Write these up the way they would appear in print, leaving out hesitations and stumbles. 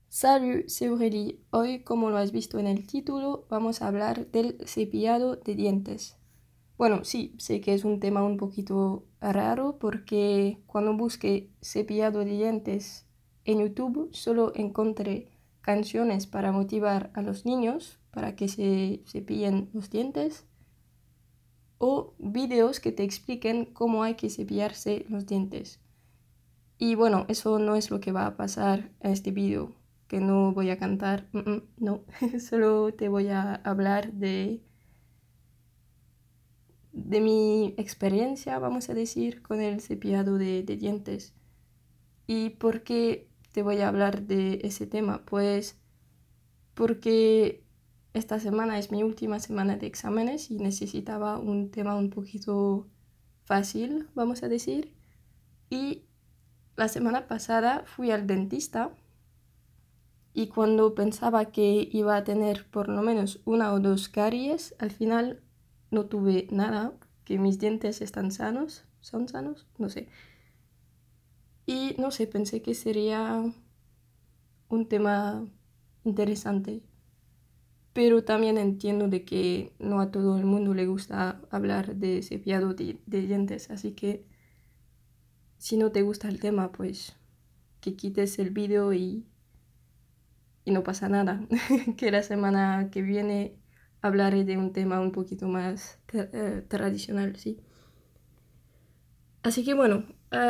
Salut, c'est Aurélie. Hoy, como lo has visto en el título, vamos a hablar del cepillado de dientes. Bueno, sí, sé que es un tema un poquito raro porque cuando busqué cepillado de dientes en YouTube solo encontré canciones para motivar a los niños para que se cepillen los dientes o videos que te expliquen cómo hay que cepillarse los dientes. Y bueno, eso no es lo que va a pasar en este vídeo, que no voy a cantar, no, solo te voy a hablar de mi experiencia, vamos a decir, con el cepillado de dientes. ¿Y por qué te voy a hablar de ese tema? Pues porque esta semana es mi última semana de exámenes y necesitaba un tema un poquito fácil, vamos a decir. Y la semana pasada fui al dentista. Y cuando pensaba que iba a tener por lo menos una o dos caries, al final no tuve nada, que mis dientes están sanos, son sanos, no sé. Y no sé, pensé que sería un tema interesante, pero también entiendo de que no a todo el mundo le gusta hablar de cepillado de dientes, así que si no te gusta el tema, pues que quites el vídeo y no pasa nada, que la semana que viene hablaré de un tema un poquito más tradicional, sí. Así que bueno,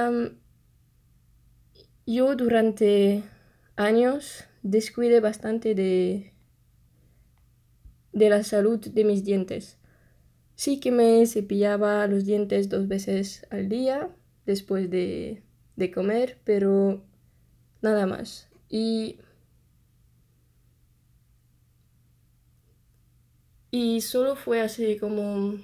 yo durante años descuidé bastante de la salud de mis dientes. Sí que me cepillaba los dientes 2 veces al día después de comer, pero nada más. Y solo fue hace como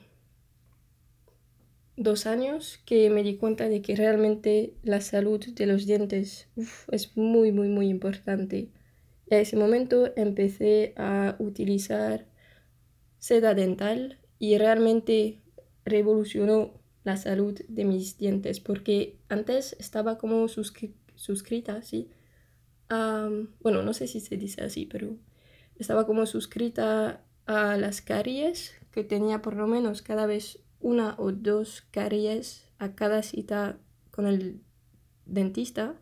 2 años que me di cuenta de que realmente la salud de los dientes es muy, muy, muy importante. Y a ese momento empecé a utilizar seda dental y realmente revolucionó la salud de mis dientes porque antes estaba como suscrita, ¿sí? Bueno, no sé si se dice así, pero estaba como suscrita a las caries, que tenía por lo menos cada vez una o dos caries a cada cita con el dentista.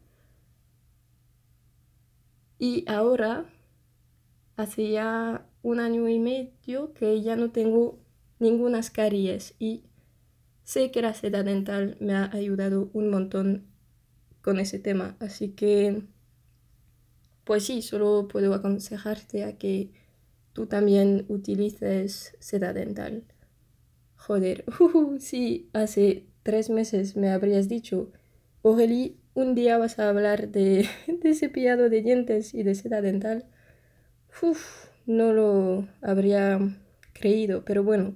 Y ahora, hace ya 1 año y medio que ya no tengo ninguna caries y sé que la seda dental me ha ayudado un montón con ese tema. Así que, pues sí, solo puedo aconsejarte a que tú también utilices seda dental. Joder, sí, hace 3 meses me habrías dicho, Aurélie, un día vas a hablar de cepillado de dientes y de seda dental. No lo habría creído, pero bueno.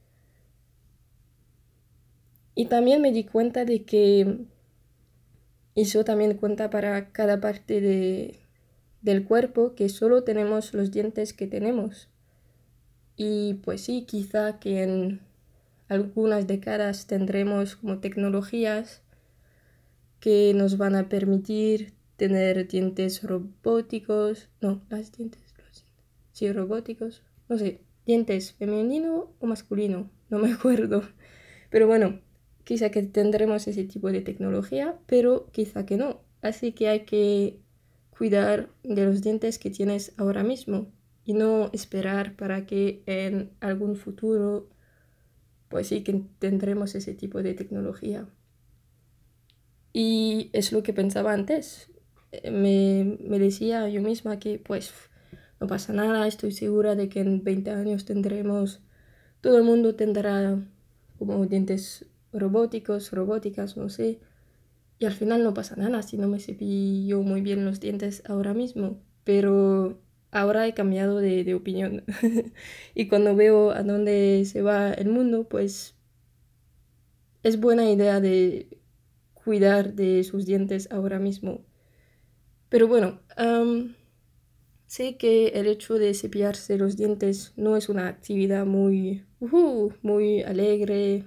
Y también me di cuenta de que eso también cuenta para cada parte del cuerpo, que solo tenemos los dientes que tenemos. Y pues sí, quizá que en algunas décadas tendremos como tecnologías que nos van a permitir tener dientes robóticos, no, los dientes, sí, robóticos, no sé, dientes femenino o masculino, no me acuerdo, pero bueno, quizá que tendremos ese tipo de tecnología, pero quizá que no, así que hay que cuidar de los dientes que tienes ahora mismo y no esperar para que en algún futuro, pues sí que tendremos ese tipo de tecnología. Y es lo que pensaba antes. Me decía yo misma que pues no pasa nada, estoy segura de que en 20 años tendremos, todo el mundo tendrá como dientes robóticos, robóticas, no sé. Y al final no pasa nada si no me cepillo muy bien los dientes ahora mismo. Pero ahora he cambiado de opinión. Y cuando veo a dónde se va el mundo, pues es buena idea de cuidar de sus dientes ahora mismo. Pero bueno, sé que el hecho de cepillarse los dientes no es una actividad muy alegre,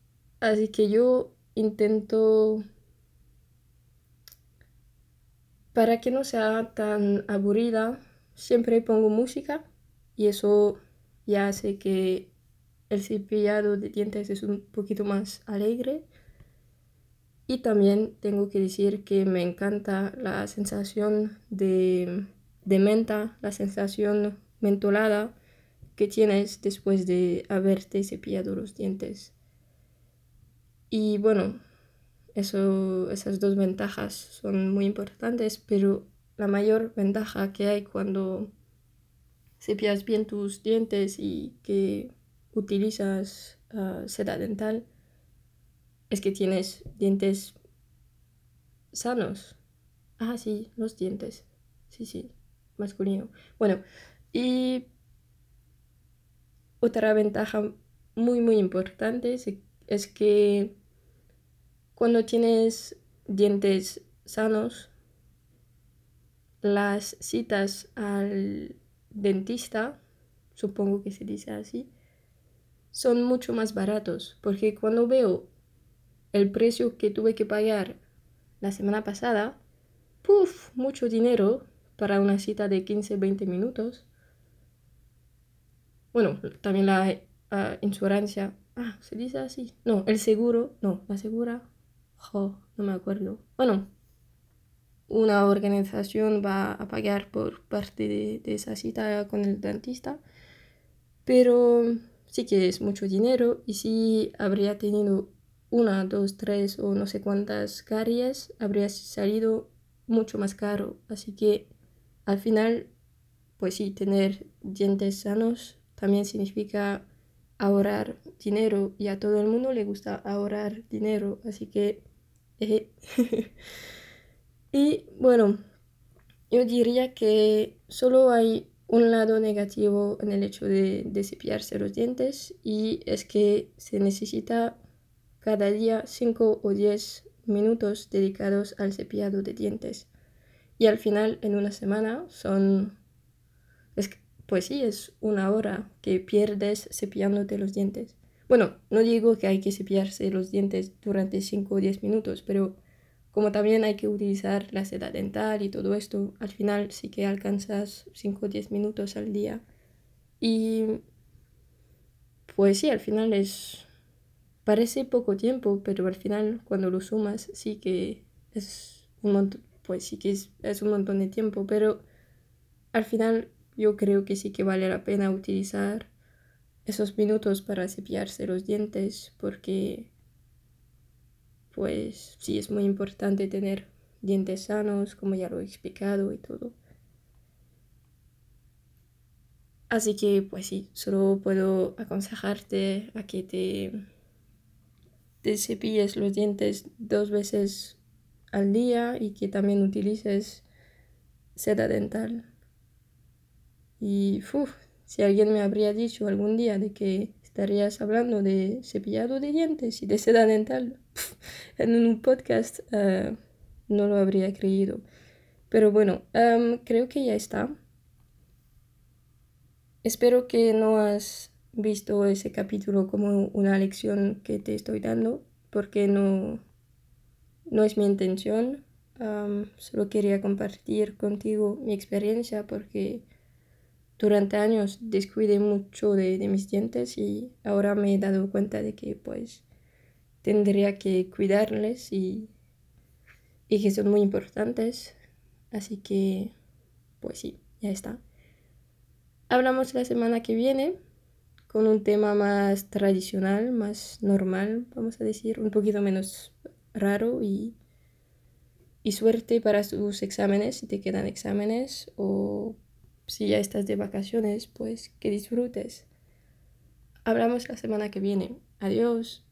así que yo intento Para que no sea tan aburrida, siempre pongo música y eso ya hace que el cepillado de dientes es un poquito más alegre. Y también tengo que decir que me encanta la sensación de menta, la sensación mentolada que tienes después de haberte cepillado los dientes. Y bueno, esas dos ventajas son muy importantes, pero la mayor ventaja que hay cuando cepillas bien tus dientes y que utilizas seda dental es que tienes dientes sanos. Ah, sí, los dientes. Sí, sí, masculino. Bueno, y otra ventaja muy, muy importante es que cuando tienes dientes sanos, las citas al dentista, supongo que se dice así, son mucho más baratos, porque cuando veo el precio que tuve que pagar la semana pasada, ¡puf! Mucho dinero para una cita de 15-20 minutos. Bueno, también la insurancia. Ah, ¿se dice así? No, el seguro. No, la segura. Jo, no me acuerdo. Bueno, una organización va a pagar por parte de esa cita con el dentista. Pero sí que es mucho dinero y si habría tenido una, dos, tres o no sé cuántas caries, habría salido mucho más caro. Así que al final, pues sí, tener dientes sanos también significa ahorrar dinero y a todo el mundo le gusta ahorrar dinero. Así que... eh, y bueno, yo diría que solo hay un lado negativo en el hecho de cepillarse los dientes y es que se necesita cada día 5 o 10 minutos dedicados al cepillado de dientes. Y al final, en una semana, pues sí, es una hora que pierdes cepillándote los dientes. Bueno, no digo que hay que cepillarse los dientes durante 5 o 10 minutos, pero como también hay que utilizar la seda dental y todo esto, al final sí que alcanzas 5 o 10 minutos al día. Y pues sí, al final parece poco tiempo, pero al final cuando lo sumas sí que es un montón, pues sí que es un montón de tiempo, pero al final yo creo que sí que vale la pena utilizar esos minutos para cepillarse los dientes porque pues sí es muy importante tener dientes sanos, como ya lo he explicado y todo. Así que pues sí, solo puedo aconsejarte a que te cepilles los dientes 2 veces al día y que también utilices seda dental. Y si alguien me habría dicho algún día de que estarías hablando de cepillado de dientes y de seda dental en un podcast, no lo habría creído. Pero bueno, creo que ya está. Espero que no has visto ese capítulo como una lección que te estoy dando, porque no es mi intención. Solo quería compartir contigo mi experiencia porque durante años descuidé mucho de mis dientes y ahora me he dado cuenta de que pues tendría que cuidarles y que son muy importantes. Así que pues sí, ya está. Hablamos la semana que viene con un tema más tradicional, más normal, vamos a decir, un poquito menos raro y suerte para tus exámenes, si te quedan exámenes o si ya estás de vacaciones, pues que disfrutes. Hablamos la semana que viene. Adiós.